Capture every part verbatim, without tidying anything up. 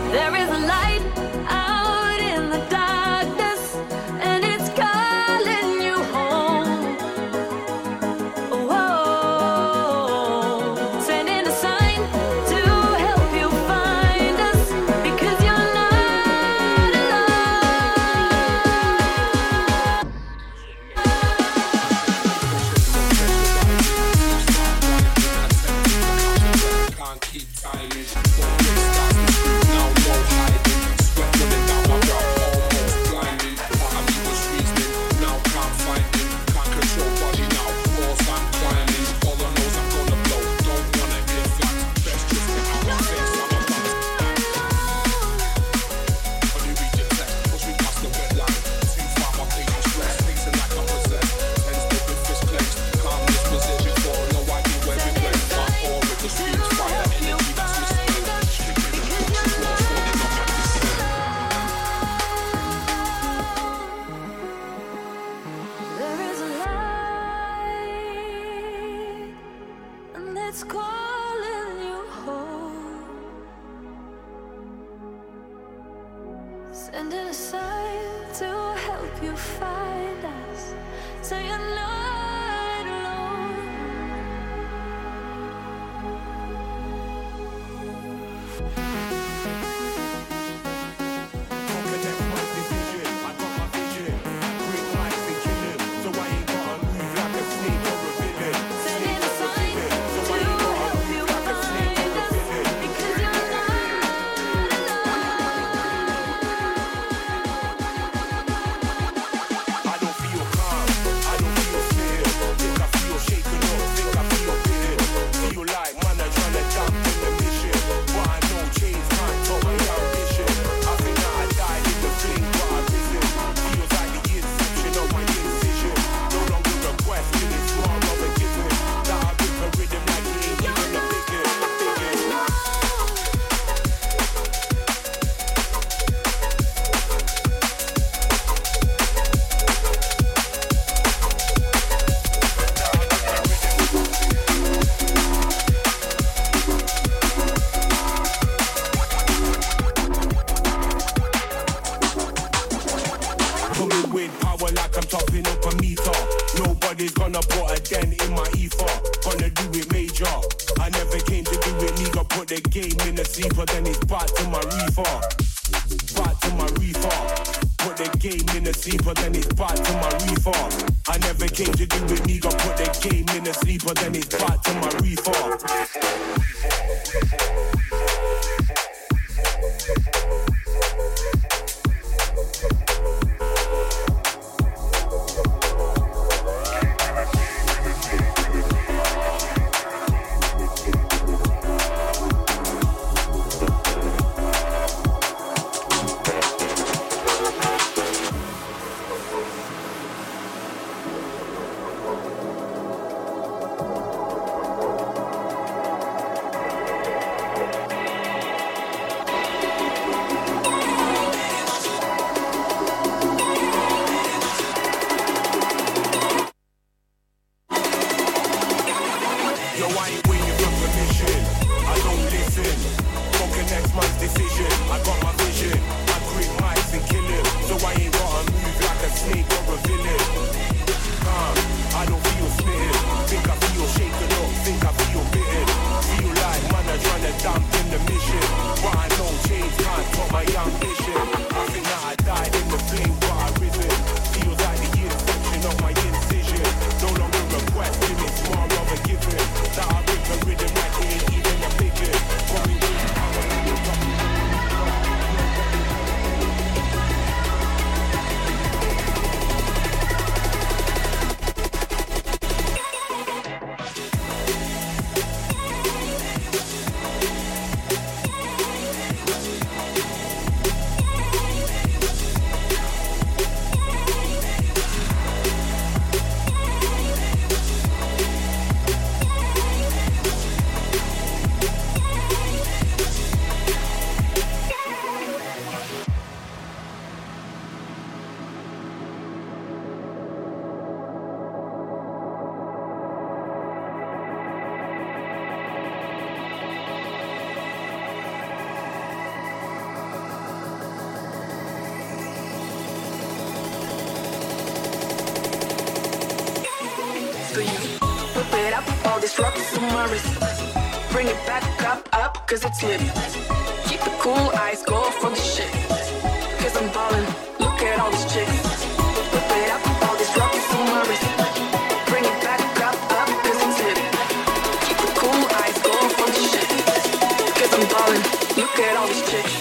There is a light out in the darkness, and it's calling you home. Whoa, sending a sign to help you find us, because you're not Can't keep timing. Now no hiding. Sweat running down my brow, almost blinding. Part of me was reasoning, now can't find it. Can't control body now, walls I'm climbing. All I know is I'm gonna blow, don't wanna hear facts. Best just get out my face, I'm a bounce. Only read your text, push me past the red line. Too far, my patience stress, pacing like I'm possessed. Ten step with fist clenched, calm this position for no idea where it went. My aura just screams fire, energy that's respect. Stricken and pushing walls, falling on my descent. There is a light, and it's calling you home. Sending a sign to help you find us, so you're not alone. Connect my decision, I got my vision. Bring life and kill him, so I ain't gotta move like a snake or a villain. Sending a sign to help you find us, because you're not I don't feel calm, I don't feel fear. Think I feel shaken up, think I feel bitter. Feel like man are trying to dampen the mission. But I know change can't top my ambition. I think that I died in the flame, but I've risen. Feels like the inception of my incision. No longer a question, it's more of a given. That I rip a rhythm like it ain't even a bigger, bigger. Coming with power like I'm topping up a meter. Nobody's gonna put a dent in my ether. Gonna do it major. I never came to do it nigga. Put the game in the sleeper, then it's back to my reefer. Back to my reefer. Put the game in the sleeper, then it's back to my reefer. I never came to do it nigga. Put the game in the sleeper, then it's back to my reefer. Yo, I ain't waiting for permission. I don't listen. Don't connect man's decision. I got my vision. I grip mics and kill him. So I ain't gotta move like a snake or a villain. Nah, I don't feel smitten. Think I feel shaken up. Think I feel bitten. Feel like man are trying to dampen the mission. But I know change can't top my ambition. I think that I died in the flame, but I risen. Feels like the inception of my incision. No longer a question, it's more of a given. That I rip a rhythm like it ain't even a bigot. Coming with power like a all these rocks on my wrist. Bring it back up, up, cause it's lit. Keep the cool eyes, go for the shit. Cause I'm ballin', look at all these chicks. Whip it up, all these rocks on my wrist. Bring it back up, up, cause it's lit. Keep the cool eyes, go for the shit. Cause I'm ballin', look at all these chicks.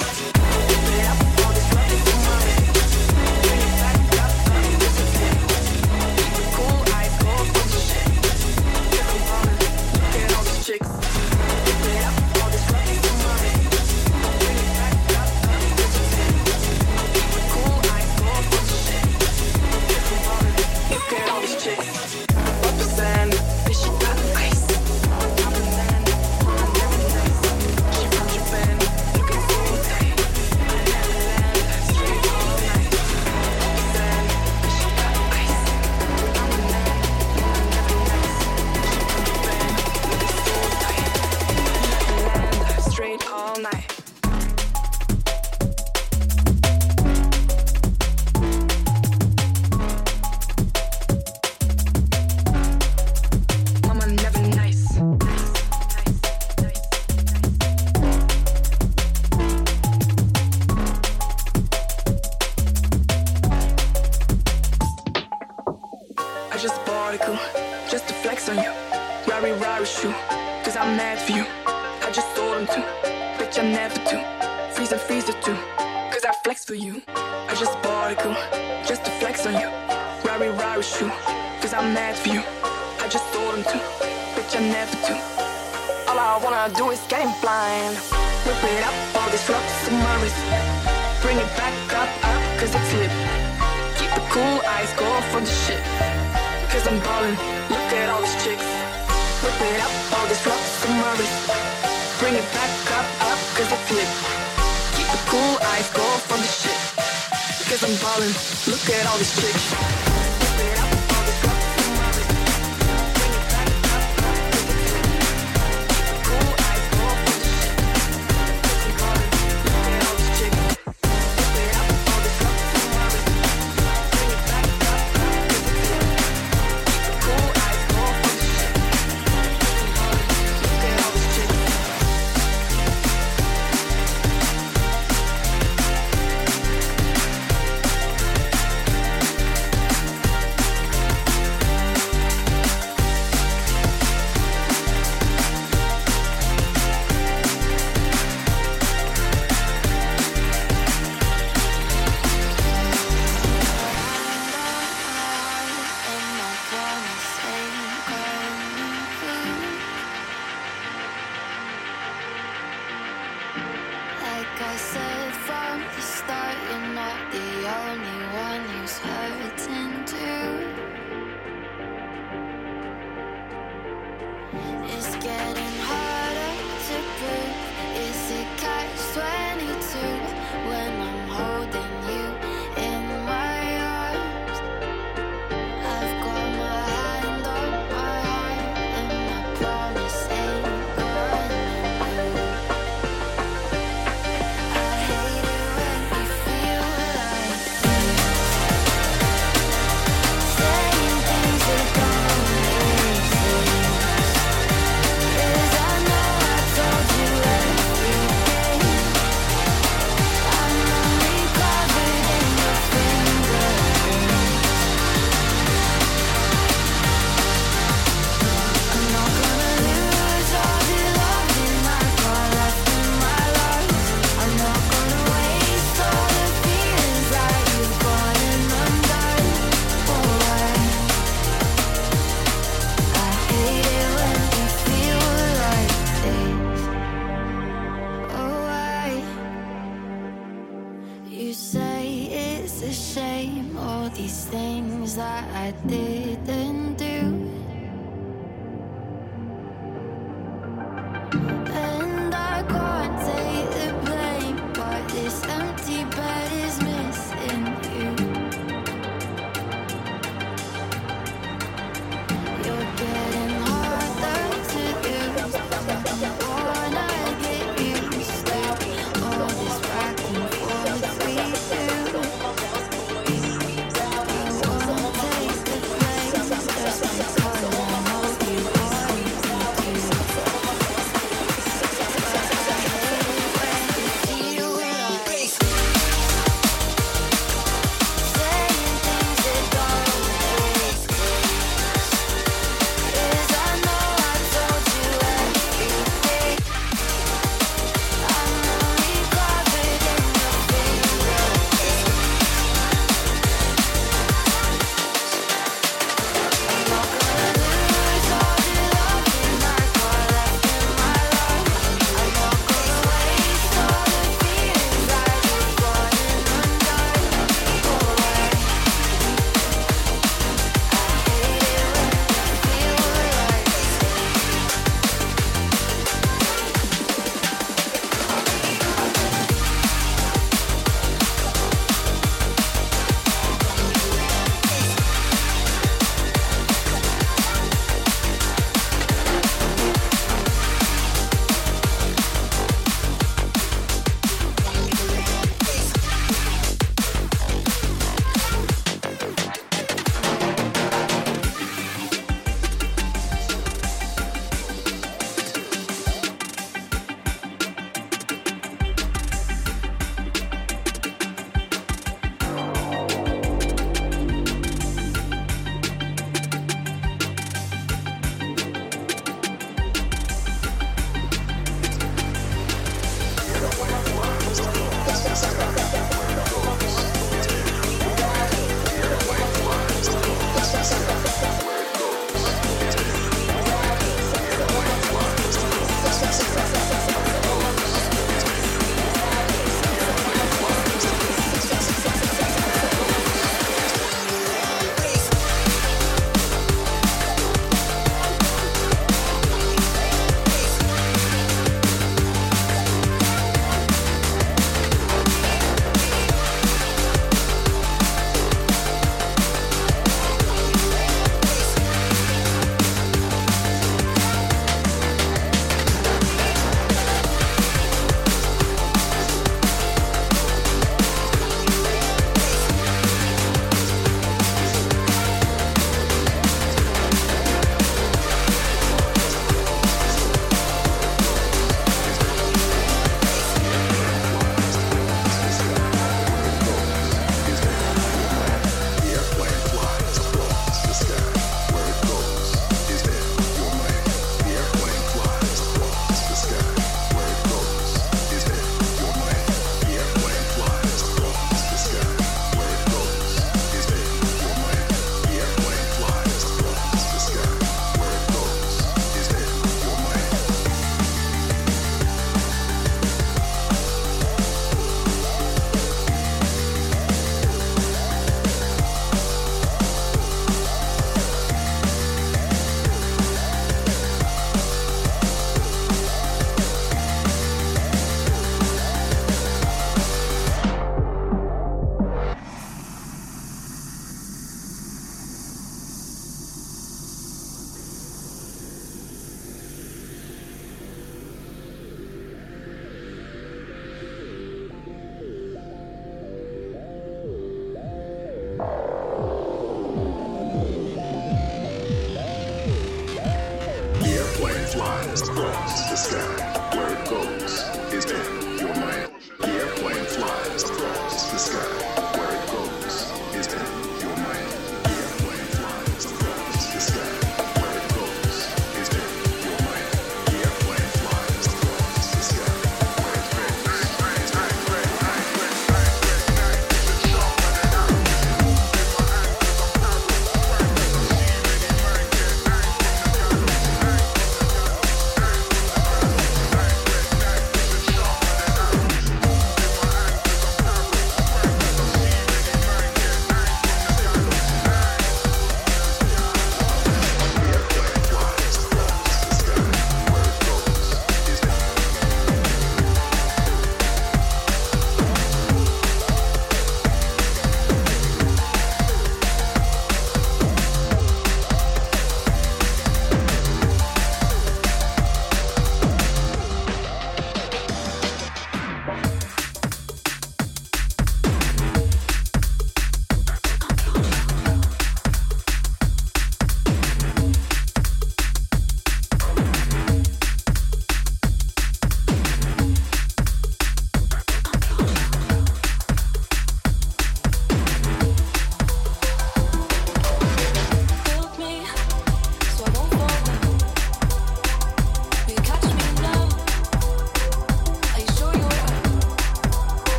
Look at all these chicks. Take the place.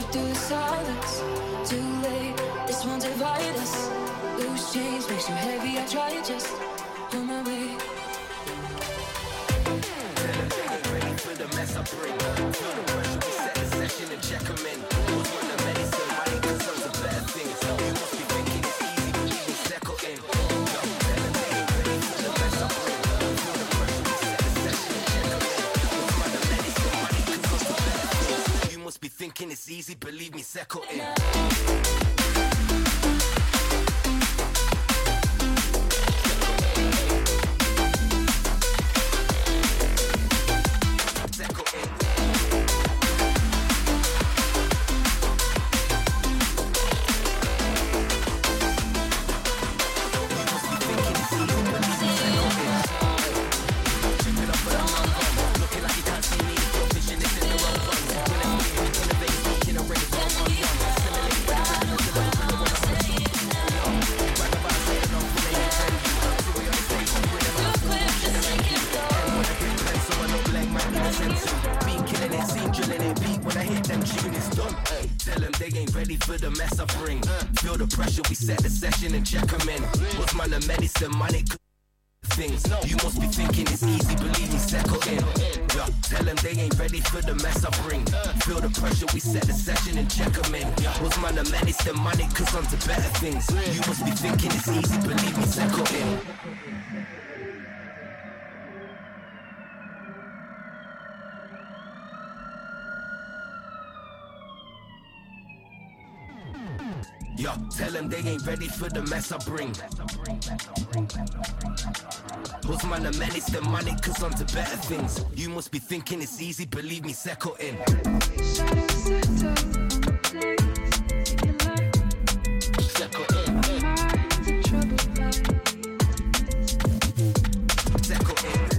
through the silence. Too late, this won't divide us. Loose change makes you heavy. I try just on my way. Ready for the mess I bring. Feel the pressure, we set the session and check them in. What's one of medicine? Money concerns the better things. You must be thinking it's easy, but you can settle in. Yo, tell them they ain't ready for the mess I bring. Feel the pressure, we set the session and check them in. What's one of medicine? Money concerns the better things. You must be thinking it's easy, believe me, settle in. Medicine, money, things. You must be thinking it's easy, believe me, settle in. Yeah, tell them they ain't ready for the mess I bring. Feel the pressure, we set the session and check them in. What's man the medicine, money, cause I'm to better things. You must be thinking it's easy, believe me, settle in. Yo, tell them they ain't ready for the mess I bring. What's man the menace, the money, cause I'm to better things. You must be thinking it's easy, believe me, settle in. Settle in. Settle in.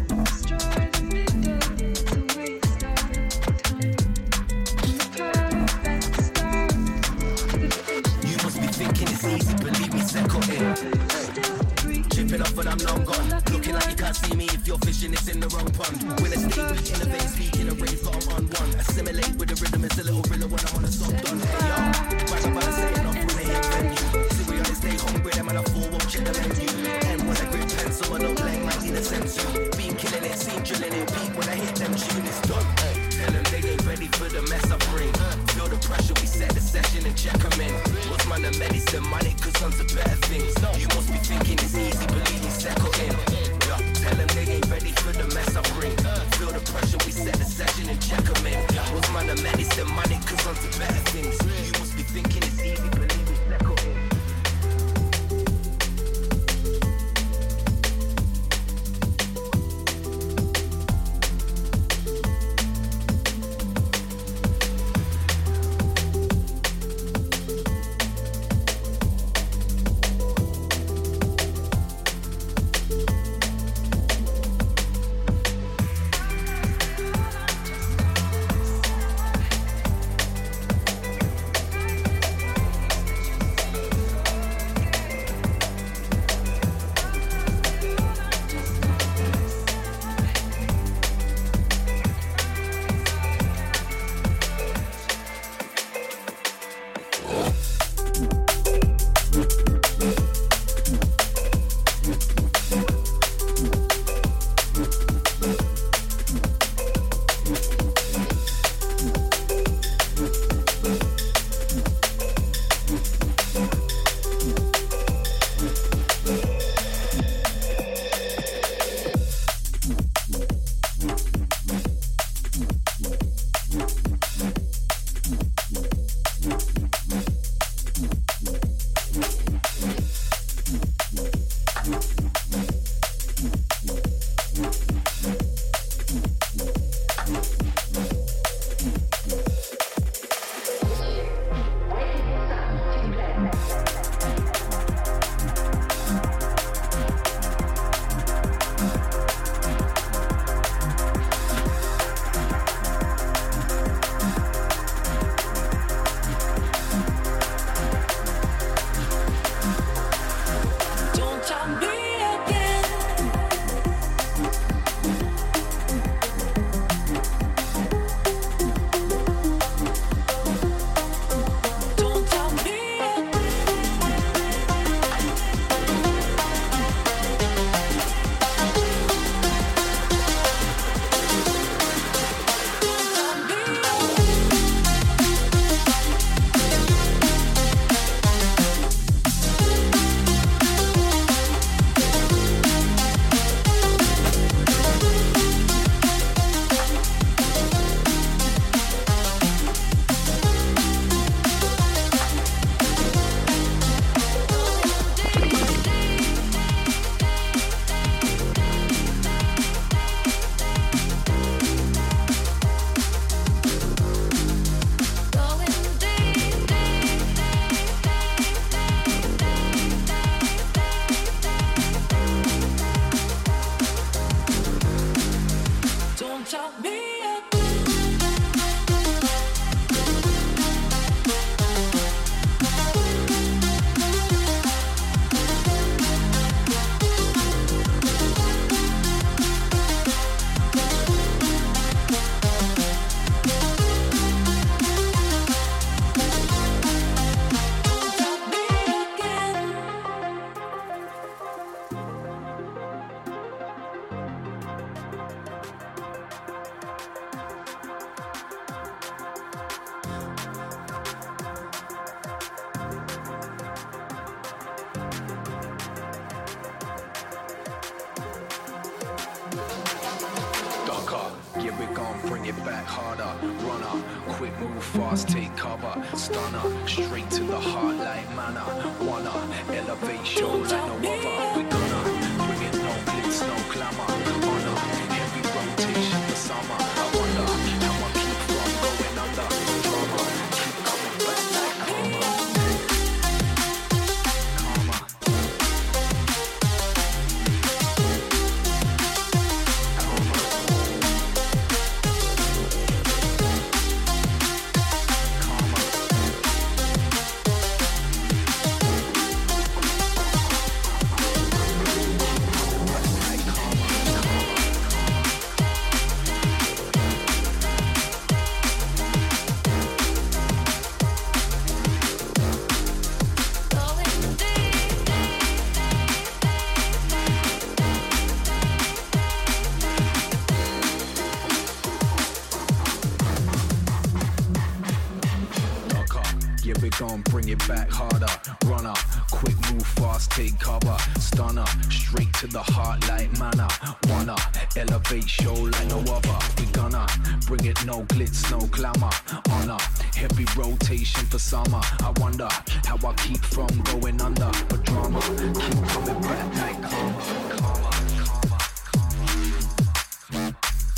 Thinking it's easy, believe me, settle in. Chipping off and I'm long gone. Looking like you can't see me if you're fishing, it's in the wrong pond. When I stay, we innovate, speaking a rave, got I'm on one. Assimilate with the rhythm, it's a little thriller when I'm on a soft done. Hey yo, right about to say enough when they hit venue. See we always stay hungry, them and I fall, won't check the menu. And when I grip pencil, I don't like might need a sense. Been killing it, seen drilling it, beat when I hit them tune, it's done. Tell them they ain't ready for the mess I bring. Feel the pressure, we set the session and check them in. What's man the medicine, money, cause I'm to better things. You must be thinking it's easy, believe me, settle in. Yeah, tell them they ain't ready for the mess I bring. Feel the pressure, we set the session and check them in. What's man the medicine, money, cause I'm to better things. You must be thinking it's easy, believe me, settle in. bring it back harder. Runner, quick move fast, take cover. Stunner, straight to the heart like manna. Wanna elevate show like no other. We gonna bring it no glitz, no glamour. Honor, heavy rotation for summer. I wonder how I keep from going under. Drama, keep coming back like karma. Karma. Gon' bring it back harder. Runner, quick move fast, take cover. Stunner, straight to the heart like manna. Wanna elevate show like no other. We gonna bring it no glitz, no glamour. Honor, heavy rotation for summer. I wonder how I keep from going under. But drama, keep coming back like karma. Karma, karma, karma.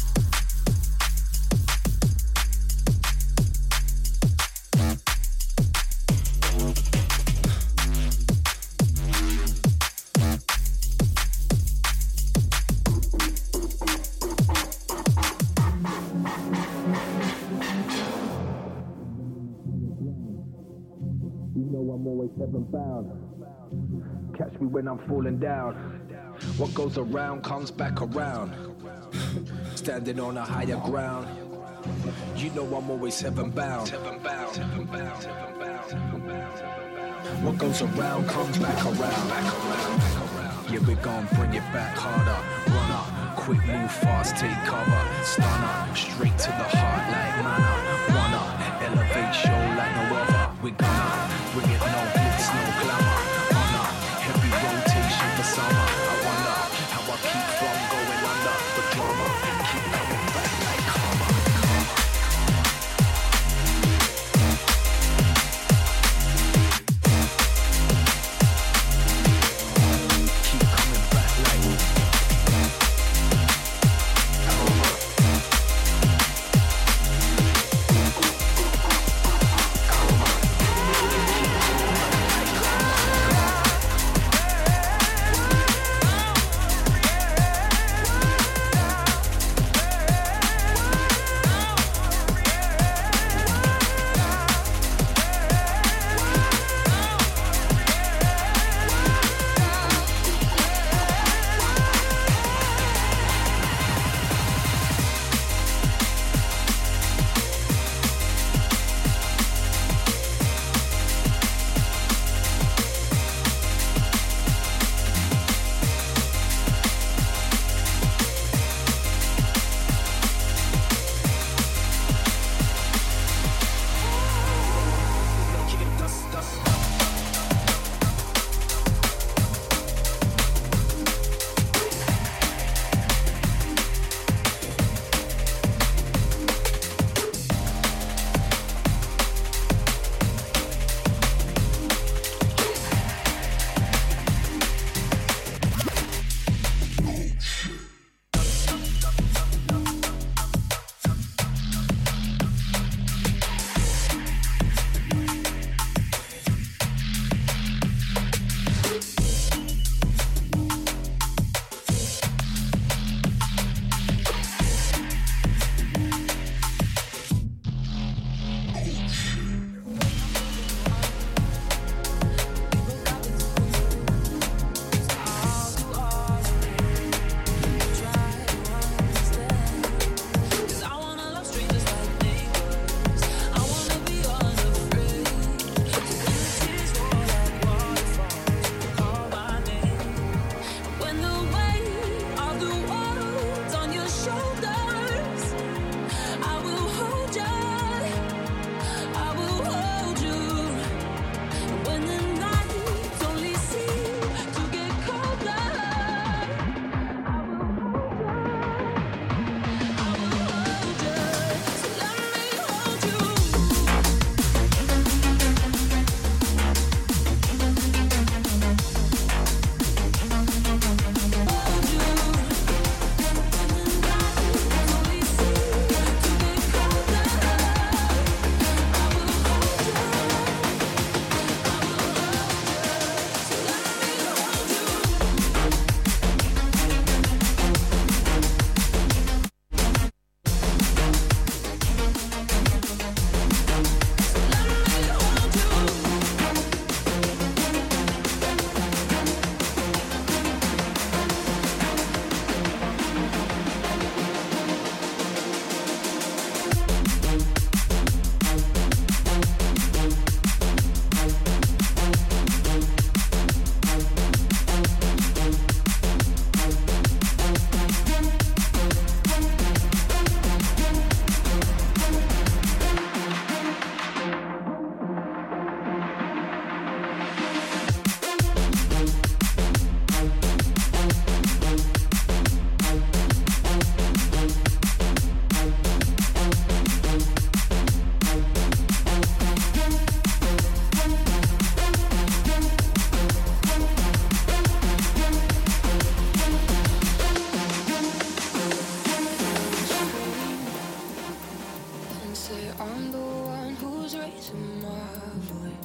I'm always heaven bound. Catch me when I'm falling down. What goes around comes back around. Standing on a higher ground. You know I'm always heaven bound. Heaven bound. Heaven bound. Heaven bound. Heaven bound. What goes around comes back around. Back around. Back around. Yeah, we gon' bring it back harder. Runner, quick move fast, take cover. Stunner, straight to the heart like manna. Wanna elevate show like no other. We gonna bring it no glitz, no glamour. Honor, heavy rotation for summer. I wonder how I keep from going under. The drama, keep coming back like karma. Keep coming back like karma. Karma.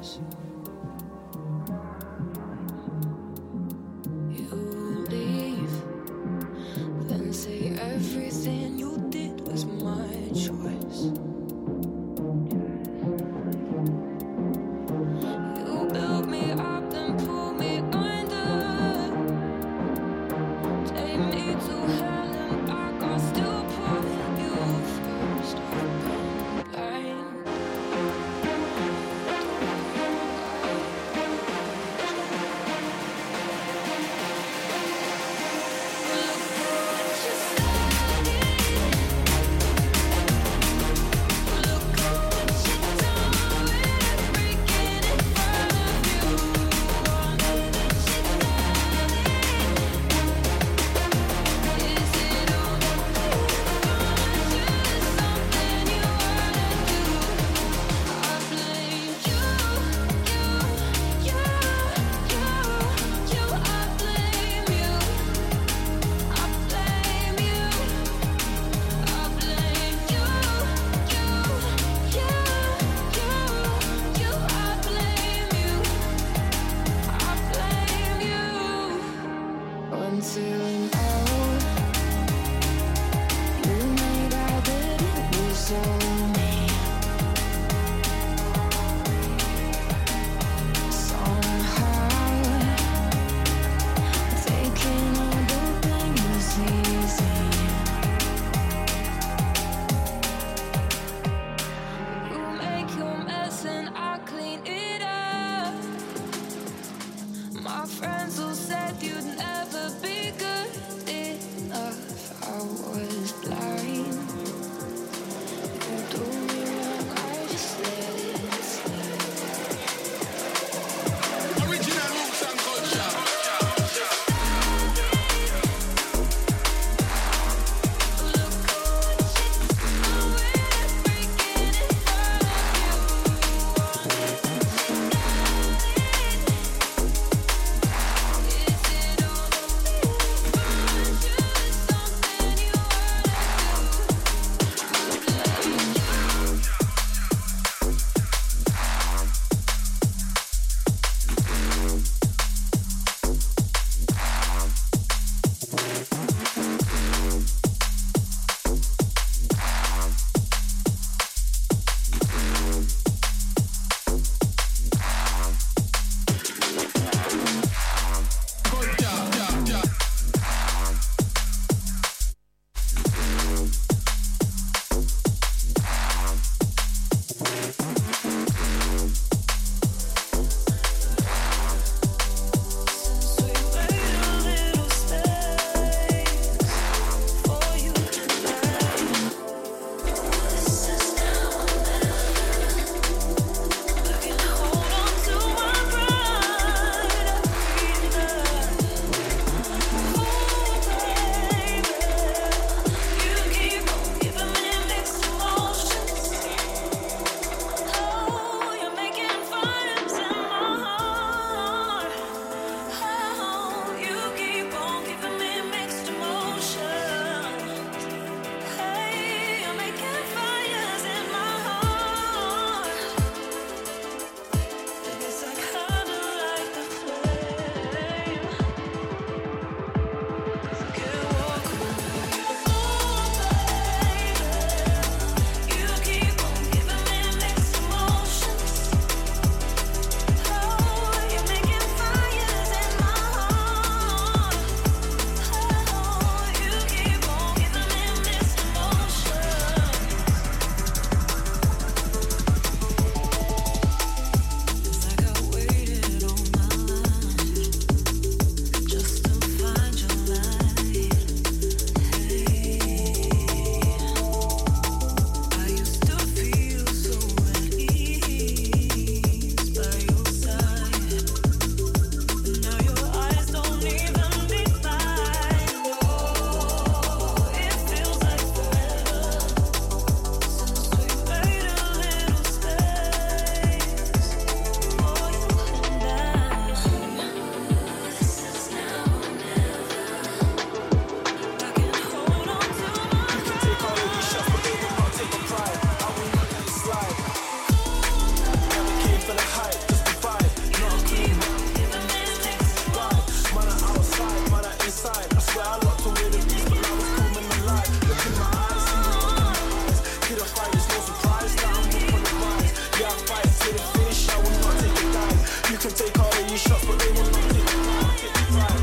Blind. can take all of these shots, but they will not take the pride.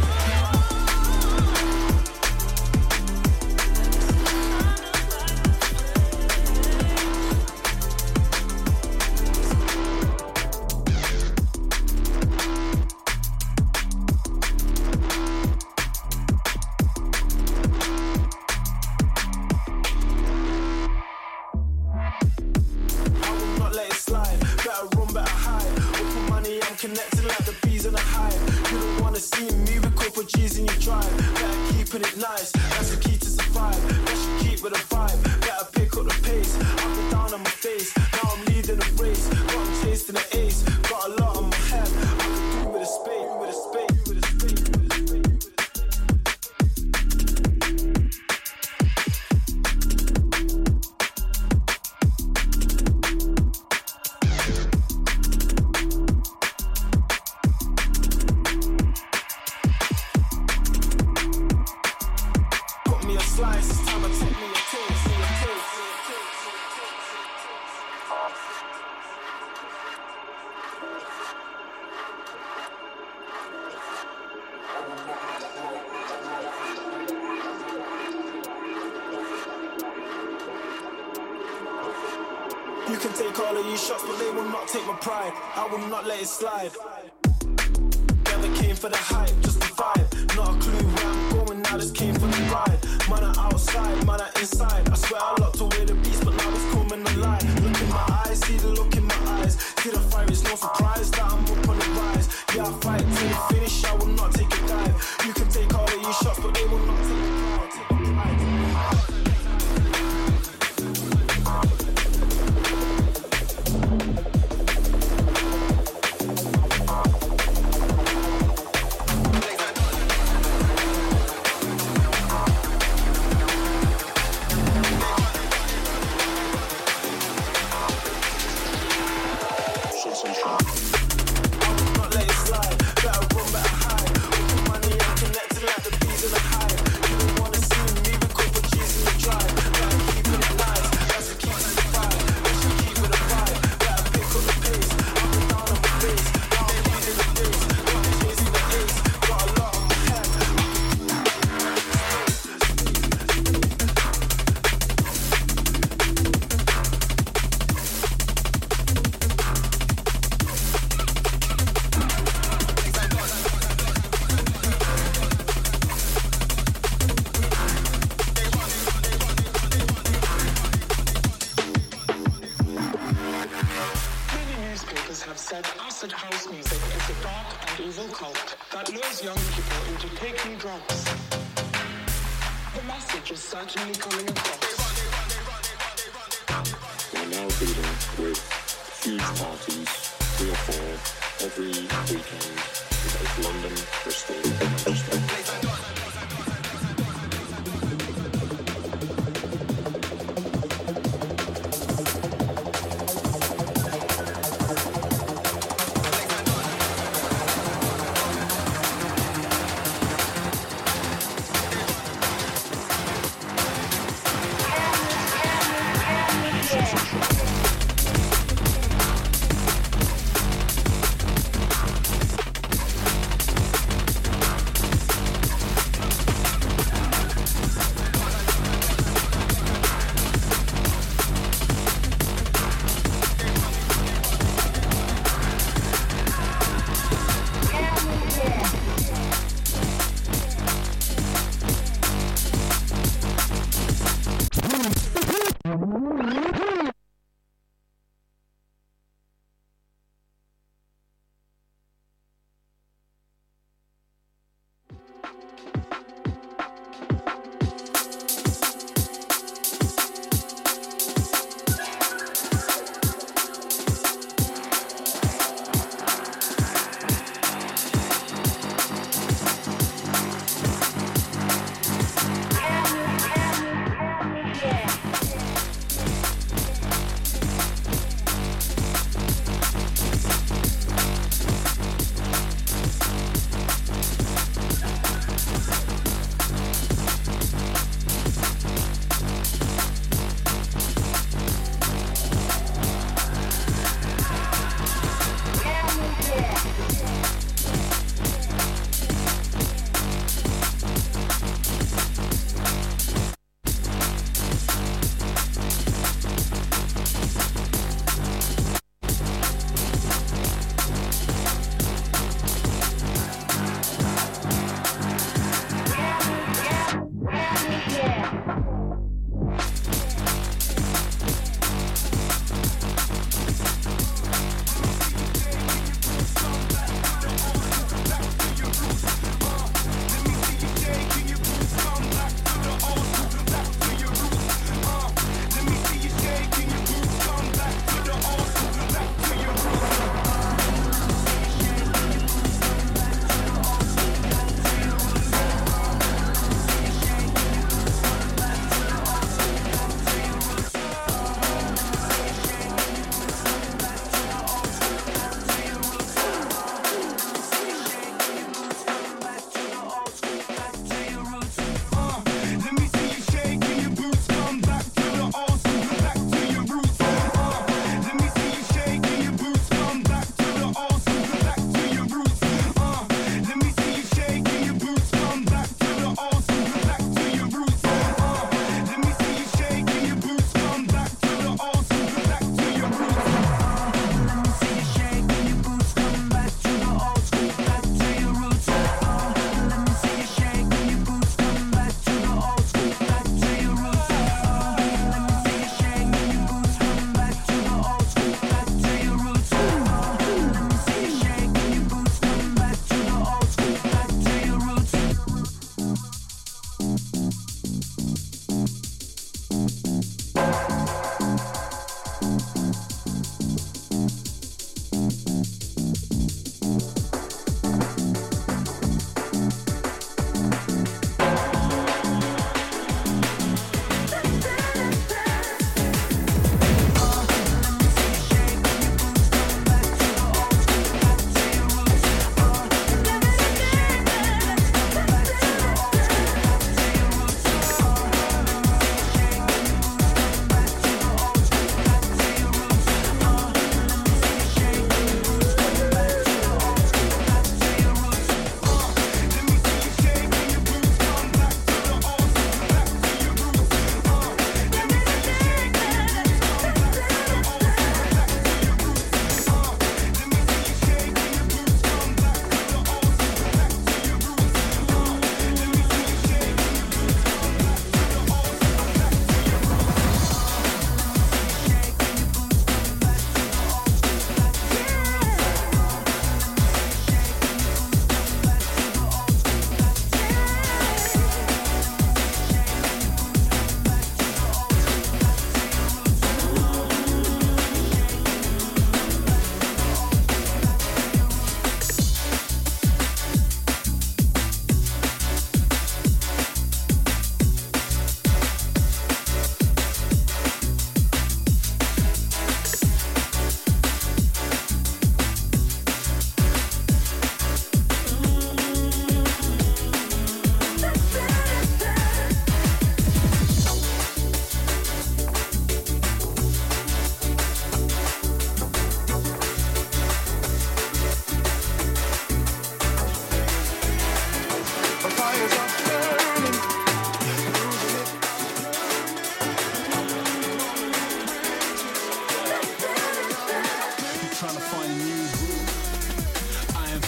Connected like the bees in a hive. You don't wanna see me with couple G's in your drive. Better keeping it nice, that's the key to survive. Best you keep with a vibe, better pick up the pace. I've been down on my face, now I'm leading the race. Got I'm chasing the ace, got a lot on my head. I can do with a spade, with a spade, with a spade, with a spade, with a spade. You can take all of these shots, but they will not take my pride. I will not let it slide. Never came for the hype, just the vibe. Not a clue where I'm going now, just came for the ride. Man are outside, man are inside. I swear I locked away the beast, but now it's coming alive. Look in my eyes, see the look in my eyes. See the fire, it's no surprise that I'm up on the rise. Yeah, I fight till the finish, I will not take a dive. You can take all of these shots, but they will not take the pride. Take the pride, take the pride. Certainly coming across. We're now dealing with huge parties, three or four, every weekend in both London, Bristol, and Manchester.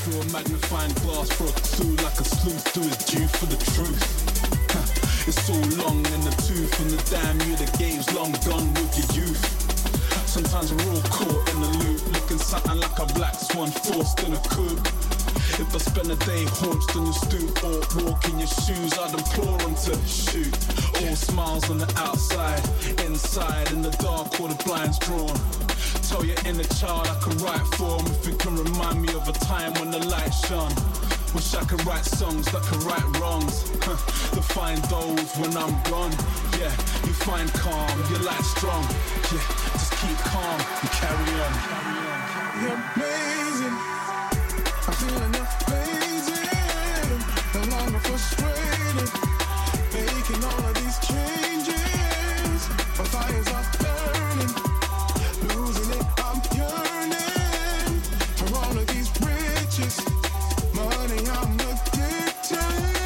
through a magnifying glass for a clue, like a sleuth do his due for the truth. It's so long in the tooth, and the damn you the game's long gone with your youth. Sometimes we're all caught in the loop, looking something like a black swan forced in a coop. If I spend a day haunched on your stoop or walk in your shoes, I'd implore them to shoot. All smiles on the outside, inside in the dark, all the blinds drawn. Tell your inner child I can write for him if it can remind me of a time when the light shone. Wish I could write songs that could right wrongs. To find those when I'm gone. Yeah, you find calm, your light strong. Yeah, just keep calm and carry on. You're amazing. I'm feeling amazing. No longer frustrated. Making all of these changes. My fires are burning. Losing it, I'm yearning. For all of these riches. Money, I'm addicted.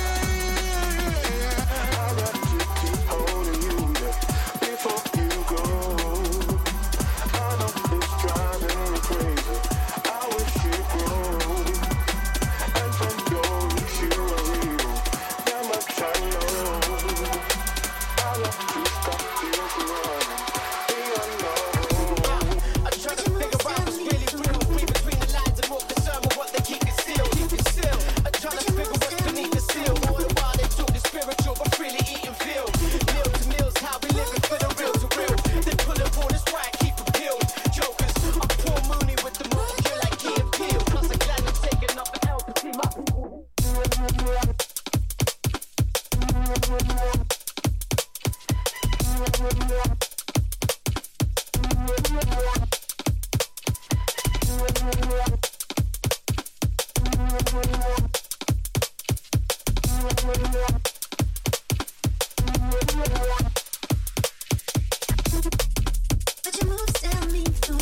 I got to keep holding you there before you go. I know it's driving me crazy. I wish you'd grow. And from your reach, you are real. That much I know. I got to stop this running. Be alone. I try to figure out what's really real. Read between the lines and more concerned with what they keep concealed. I'm trying to figure what's beneath the seal. All the while they talk is spiritual, but freely eat and feel. Meal to meals, how we living for the real to real. They pull it on this right, keep it peeled. Jokers, I'm Paul Mooney with the moon, you're like Key and Peele. Plus I'm glad I'm taking up an L to see my people. But your moves tell me no.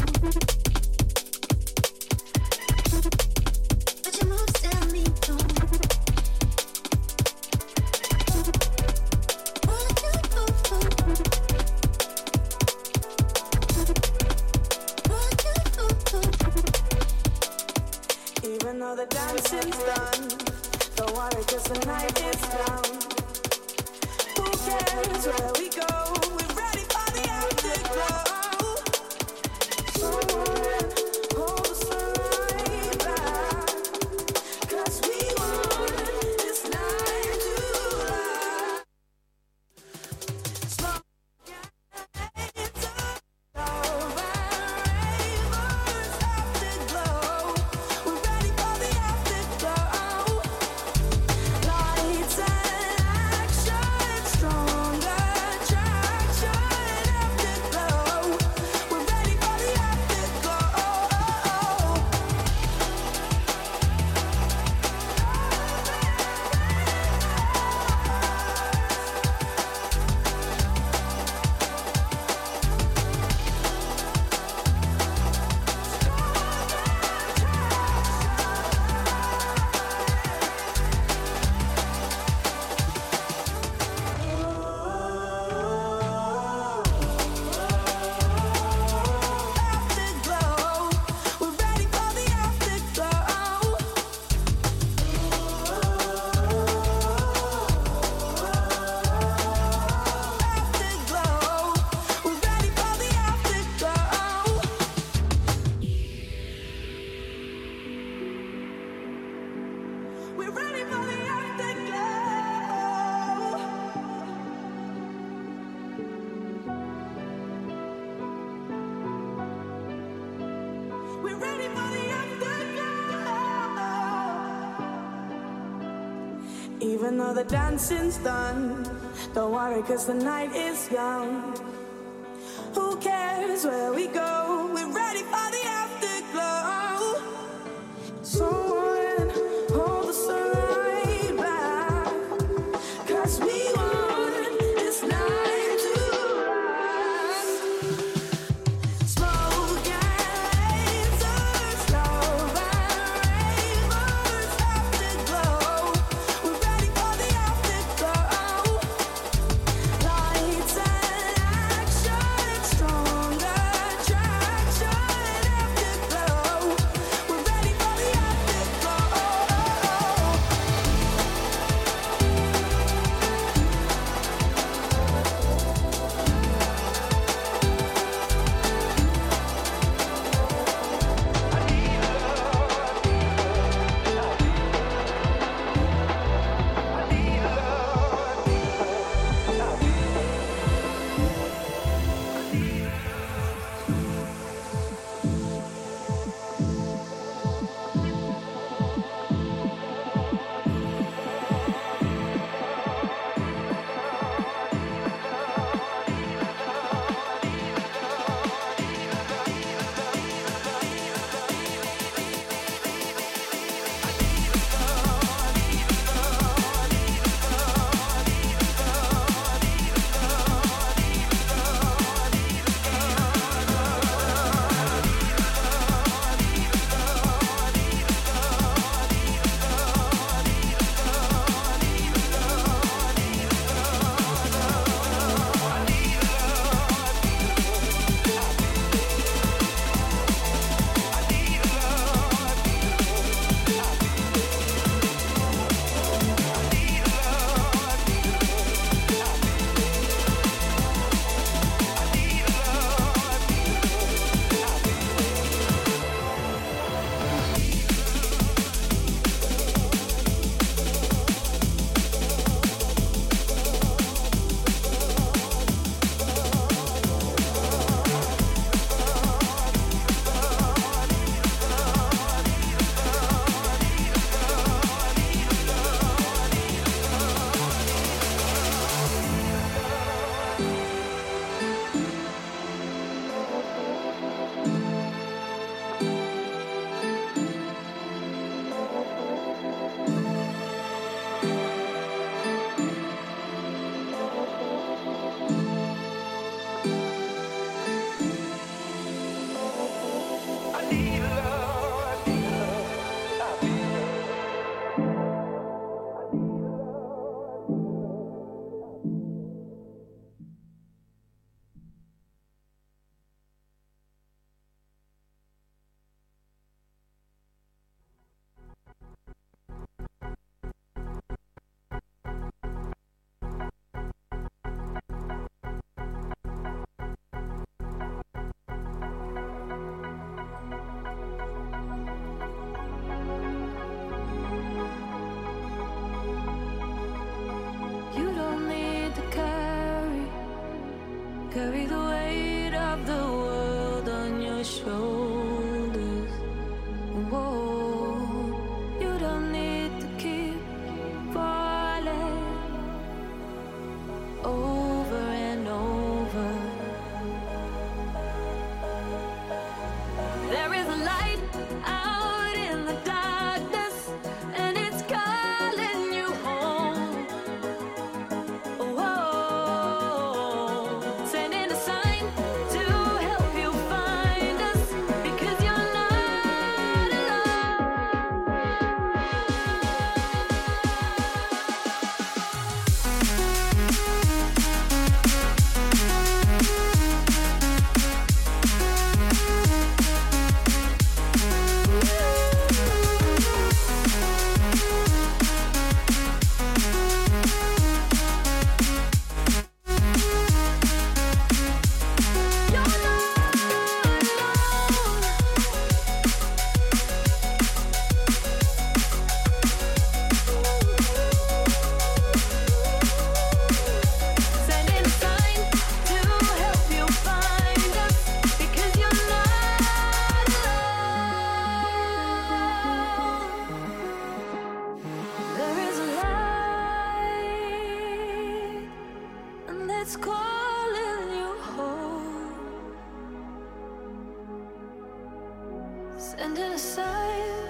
But your moves tell me no. What you do? What you do? Even though the dancing's done, don't worry 'cause the night is young. Who cares where we go? We're ready for the afterglow. Someone hold the sunlight back, 'cause we want this night to last. Smoke gets over, rainbows afterglow. We're ready for the afterglow. Lights and action, stronger attraction, afterglow. We're ready for the afterglow. Afterglow. We're ready for the afterglow. Afterglow. We're ready for the afterglow. We're ready for the afterglow. We're ready for the afterglow. Even though the dancing's done, don't worry 'cause the night is young. Who cares where we go? We're ready for the afterglow. Someone hold the sunlight back, 'cause we want this night to last. Smoke and lasers, love and rainbows afterglow. We're ready for the afterglow. Lights and action, stronger attraction,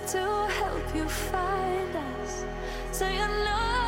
to help you find us. So you know